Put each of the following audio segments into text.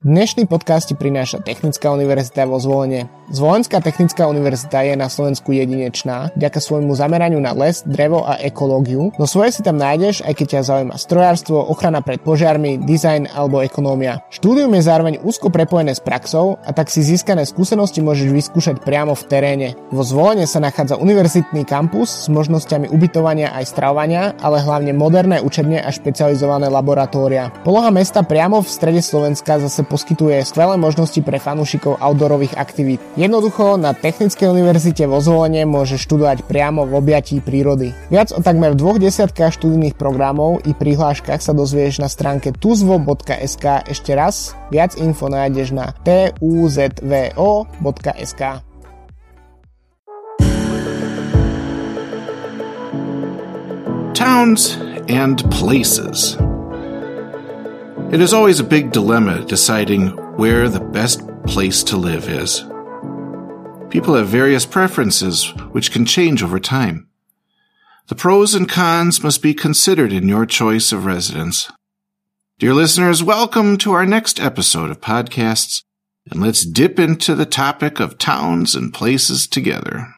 Dnešný podcast ti prináša Technická univerzita vo Zvolene. Zvolenská technická univerzita je na Slovensku jedinečná vďaka svojmu zameraniu na les, drevo a ekológiu. No svoje si tam nájdeš, aj keď ťa zaujíma strojárstvo, ochrana pred požiarmi, dizajn alebo ekonómia. Štúdium je zároveň úzko prepojené s praxou a tak si získané skúsenosti môžeš vyskúšať priamo v teréne. Vo Zvolene sa nachádza univerzitný kampus s možnosťami ubytovania aj stravovania, ale hlavne moderné učebne a špecializované laboratória. Poloha mesta priamo v strede Slovenska zase poskytuje skvelé možnosti pre fanúšikov outdoorových aktivít. Jednoducho na Technickej univerzite vo Zvolene môžeš študovať priamo v objatí prírody. Viac o takmer 20 študijných programov i prihláškach sa dozvieš na stránke tuzvo.sk. Ešte raz, viac info nájdeš na tuzvo.sk. Towns and places. It is always a big dilemma deciding where the best place to live is. People have various preferences which can change over time. The pros and cons must be considered in your choice of residence. Dear listeners, welcome to our next episode of podcasts, and let's dip into the topic of towns and places together.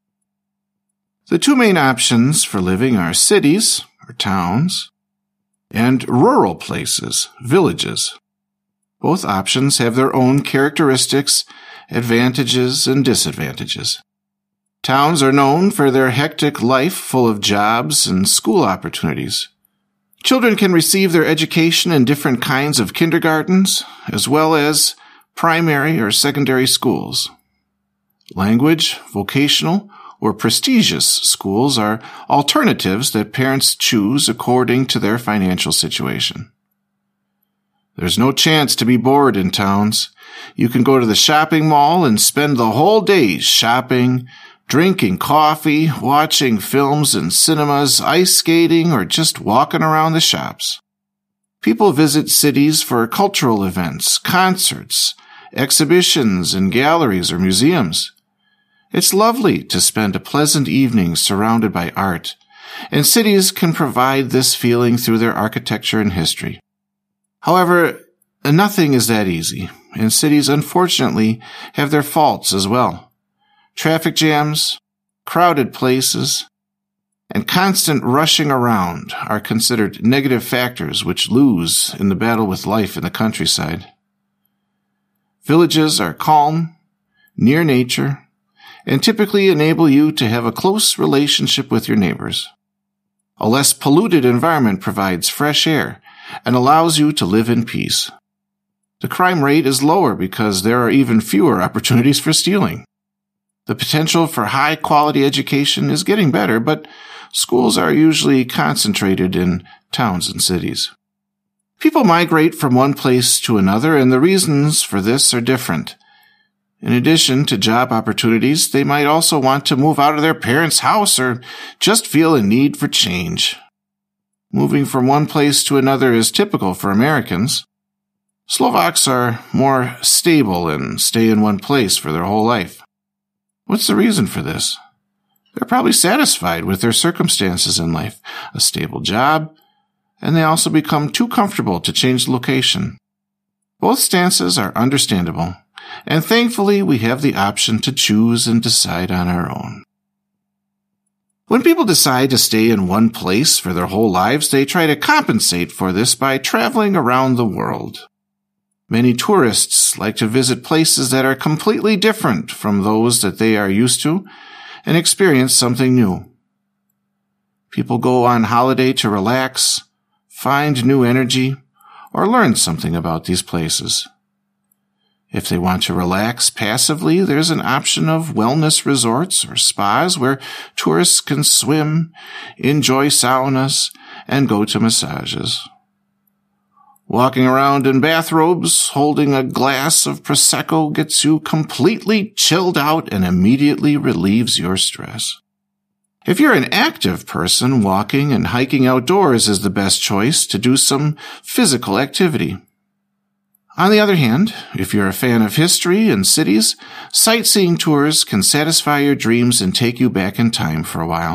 The two main options for living are cities, or towns, and rural places, villages. Both options have their own characteristics, advantages, and disadvantages. Towns are known for their hectic life full of jobs and school opportunities. Children can receive their education in different kinds of kindergartens, as well as primary or secondary schools. Language, vocational, or prestigious schools are alternatives that parents choose according to their financial situation. There's no chance to be bored in towns. You can go to the shopping mall and spend the whole day shopping, drinking coffee, watching films in cinemas, ice skating, or just walking around the shops. People visit cities for cultural events, concerts, exhibitions, and galleries or museums. It's lovely to spend a pleasant evening surrounded by art, and cities can provide this feeling through their architecture and history. However, nothing is that easy, and cities unfortunately have their faults as well. Traffic jams, crowded places, and constant rushing around are considered negative factors which lose in the battle with life in the countryside. Villages are calm, near nature, and typically enable you to have a close relationship with your neighbors. A less polluted environment provides fresh air and allows you to live in peace. The crime rate is lower because there are even fewer opportunities for stealing. The potential for high-quality education is getting better, but schools are usually concentrated in towns and cities. People migrate from one place to another, and the reasons for this are different. In addition to job opportunities, they might also want to move out of their parents' house or just feel a need for change. Moving from one place to another is typical for Americans. Slovaks are more stable and stay in one place for their whole life. What's the reason for this? They're probably satisfied with their circumstances in life, a stable job, and they also become too comfortable to change location. Both stances are understandable. And thankfully, we have the option to choose and decide on our own. When people decide to stay in one place for their whole lives, they try to compensate for this by traveling around the world. Many tourists like to visit places that are completely different from those that they are used to and experience something new. People go on holiday to relax, find new energy, or learn something about these places. If they want to relax passively, there's an option of wellness resorts or spas where tourists can swim, enjoy saunas, and go to massages. Walking around in bathrobes, holding a glass of Prosecco gets you completely chilled out and immediately relieves your stress. If you're an active person, walking and hiking outdoors is the best choice to do some physical activity. On the other hand, if you're a fan of history and cities, sightseeing tours can satisfy your dreams and take you back in time for a while.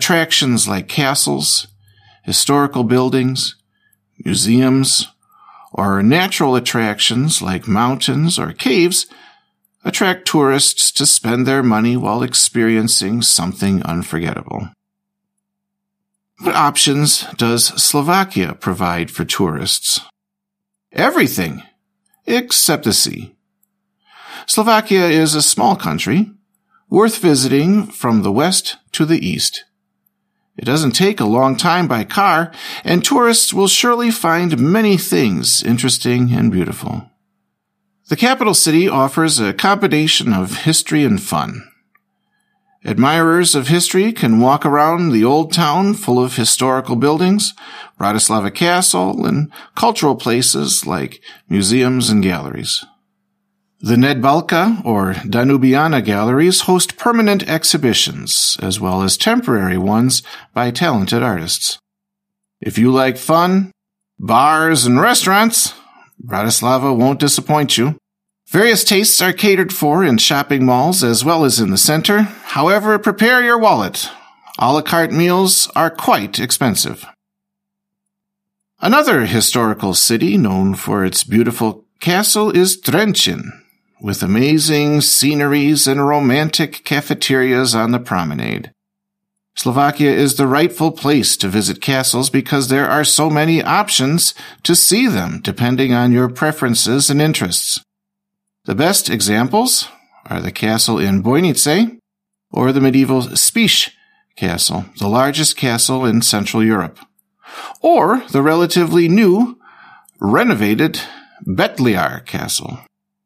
Attractions like castles, historical buildings, museums, or natural attractions like mountains or caves attract tourists to spend their money while experiencing something unforgettable. What options does Slovakia provide for tourists? Everything, except the sea. Slovakia is a small country, worth visiting from the west to the east. It doesn't take a long time by car, and tourists will surely find many things interesting and beautiful. The capital city offers a combination of history and fun. Admirers of history can walk around the old town full of historical buildings, Bratislava Castle, and cultural places like museums and galleries. The Nedbalka, or Danubiana galleries, host permanent exhibitions, as well as temporary ones by talented artists. If you like fun, bars, and restaurants, Bratislava won't disappoint you. Various tastes are catered for in shopping malls as well as in the center. However, prepare your wallet. A la carte meals are quite expensive. Another historical city known for its beautiful castle is Trenčín, with amazing sceneries and romantic cafeterias on the promenade. Slovakia is the rightful place to visit castles because there are so many options to see them depending on your preferences and interests. The best examples are the castle in Bojnice or the medieval Spiš Castle, the largest castle in Central Europe, or the relatively new, renovated Betliar Castle.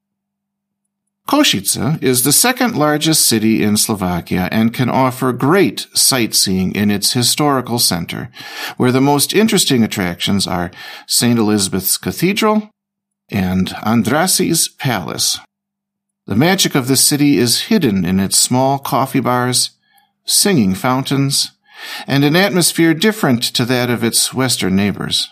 Košice is the second largest city in Slovakia and can offer great sightseeing in its historical center, where the most interesting attractions are St. Elizabeth's Cathedral and Andrassi's Palace. The magic of this city is hidden in its small coffee bars, singing fountains, and an atmosphere different to that of its western neighbors.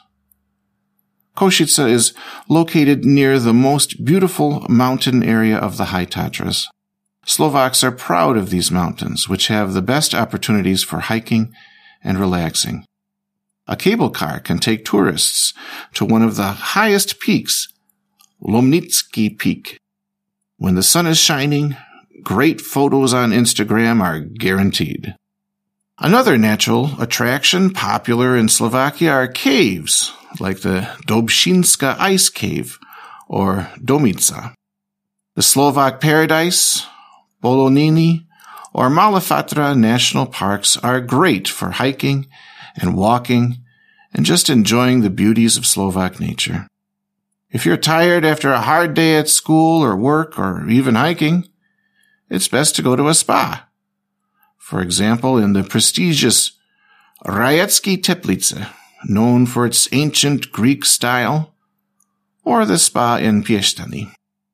Košice is located near the most beautiful mountain area of the High Tatras. Slovaks are proud of these mountains, which have the best opportunities for hiking and relaxing. A cable car can take tourists to one of the highest peaks, Lomnický Peak. When the sun is shining, great photos on Instagram are guaranteed. Another natural attraction popular in Slovakia are caves, like the Dobšinska Ice Cave, or Domica. The Slovak Paradise, Boloniny, or Malafatra national parks are great for hiking and walking and just enjoying the beauties of Slovak nature. If you're tired after a hard day at school or work or even hiking, it's best to go to a spa. For example, in the prestigious Rajeckie Teplice, known for its ancient Greek style, or the spa in Piešťany.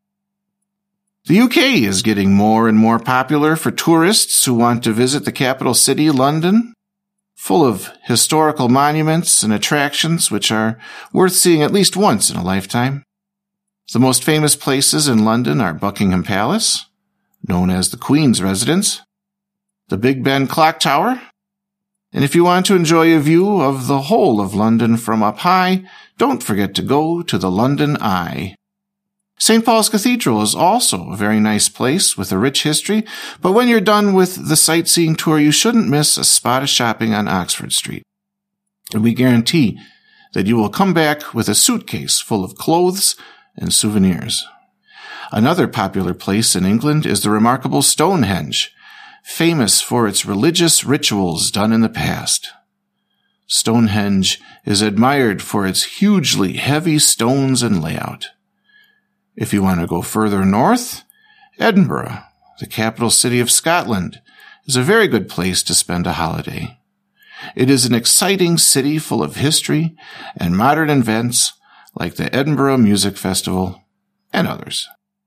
The UK is getting more and more popular for tourists who want to visit the capital city, London, full of historical monuments and attractions which are worth seeing at least once in a lifetime. The most famous places in London are Buckingham Palace, known as the Queen's Residence, the Big Ben Clock Tower, and if you want to enjoy a view of the whole of London from up high, don't forget to go to the London Eye. St. Paul's Cathedral is also a very nice place with a rich history, but when you're done with the sightseeing tour, you shouldn't miss a spot of shopping on Oxford Street. And we guarantee that you will come back with a suitcase full of clothes and souvenirs. Another popular place in England is the remarkable Stonehenge, famous for its religious rituals done in the past. Stonehenge is admired for its hugely heavy stones and layout. If you want to go further north, Edinburgh, the capital city of Scotland, is a very good place to spend a holiday. It is an exciting city full of history and modern events like the Edinburgh Music Festival and others.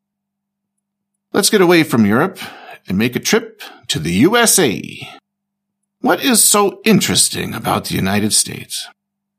Let's get away from Europe and make a trip to the USA. What is so interesting about the United States?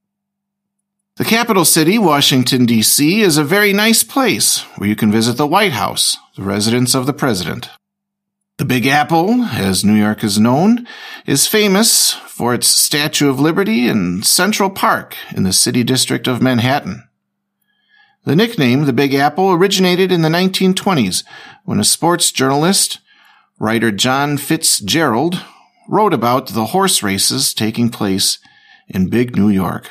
The capital city, Washington, D.C., is a very nice place where you can visit the White House, the residence of the president. The Big Apple, as New York is known, is famous for its Statue of Liberty and Central Park in the city district of Manhattan. The nickname, the Big Apple, originated in the 1920s when a sports journalist, writer John Fitzgerald, wrote about the horse races taking place in Big New York.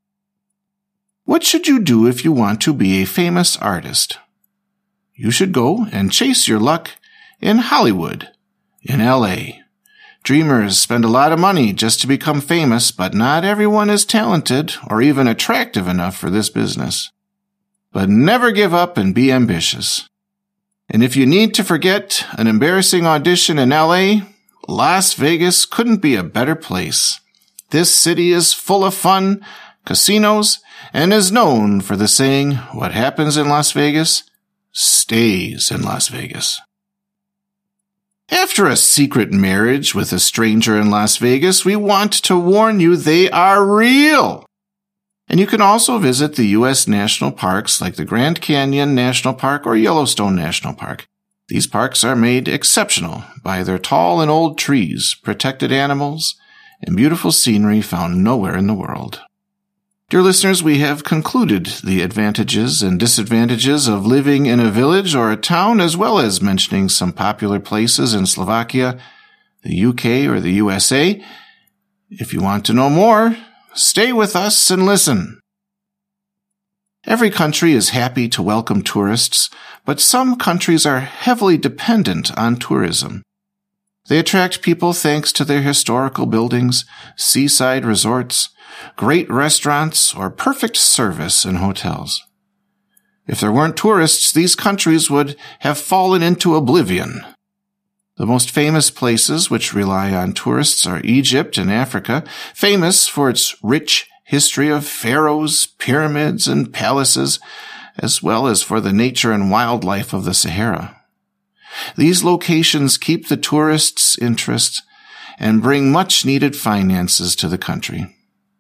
What should you do if you want to be a famous artist? You should go and chase your luck in Hollywood, in L.A. Dreamers spend a lot of money just to become famous, but not everyone is talented or even attractive enough for this business. But never give up and be ambitious. And if you need to forget an embarrassing audition in L.A., Las Vegas couldn't be a better place. This city is full of fun, casinos, and is known for the saying, what happens in Las Vegas stays in Las Vegas. After a secret marriage with a stranger in Las Vegas, we want to warn you they are real. And you can also visit the U.S. national parks like the Grand Canyon National Park or Yellowstone National Park. These parks are made exceptional by their tall and old trees, protected animals, and beautiful scenery found nowhere in the world. Dear listeners, we have concluded the advantages and disadvantages of living in a village or a town, as well as mentioning some popular places in Slovakia, the UK, or the USA. If you want to know more, stay with us and listen. Every country is happy to welcome tourists, but some countries are heavily dependent on tourism. They attract people thanks to their historical buildings, seaside resorts, great restaurants, or perfect service in hotels. If there weren't tourists, these countries would have fallen into oblivion. The most famous places which rely on tourists are Egypt and Africa, famous for its rich history of pharaohs, pyramids, and palaces, as well as for the nature and wildlife of the Sahara. These locations keep the tourists' interest and bring much-needed finances to the country.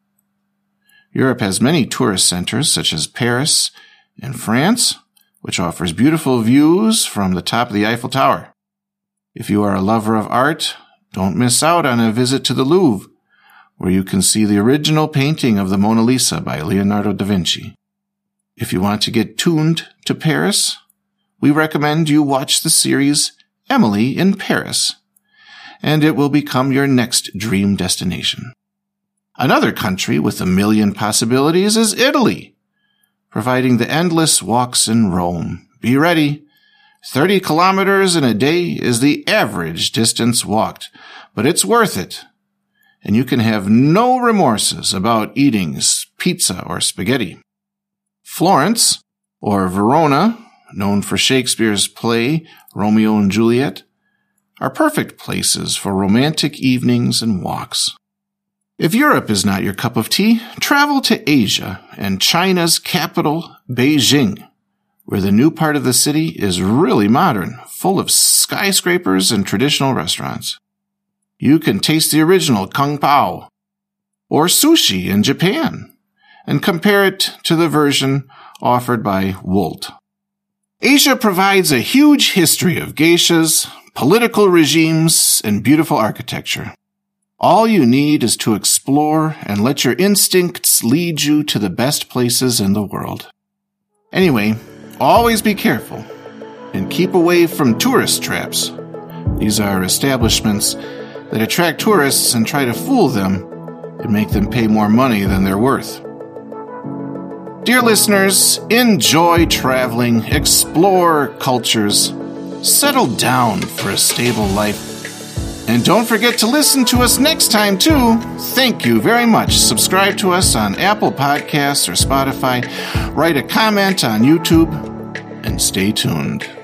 Europe has many tourist centers, such as Paris and France, which offers beautiful views from the top of the Eiffel Tower. If you are a lover of art, don't miss out on a visit to the Louvre, where you can see the original painting of the Mona Lisa by Leonardo da Vinci. If you want to get tuned to Paris, we recommend you watch the series Emily in Paris, and it will become your next dream destination. Another country with a million possibilities is Italy, providing the endless walks in Rome. Be ready. 30 kilometers in a day is the average distance walked, but it's worth it. And you can have no remorses about eating pizza or spaghetti. Florence, or Verona, known for Shakespeare's play Romeo and Juliet, are perfect places for romantic evenings and walks. If Europe is not your cup of tea, travel to Asia and China's capital, Beijing, where the new part of the city is really modern, full of skyscrapers and traditional restaurants. You can taste the original Kung Pao or sushi in Japan and compare it to the version offered by Wolt. Asia provides a huge history of geishas, political regimes, and beautiful architecture. All you need is to explore and let your instincts lead you to the best places in the world. Anyway, always be careful and keep away from tourist traps. These are establishments that attract tourists and try to fool them and make them pay more money than they're worth. Dear listeners, enjoy traveling, explore cultures, settle down for a stable life, and don't forget to listen to us next time, too. Thank you very much. Subscribe to us on Apple Podcasts or Spotify. Write a comment on YouTube, and stay tuned.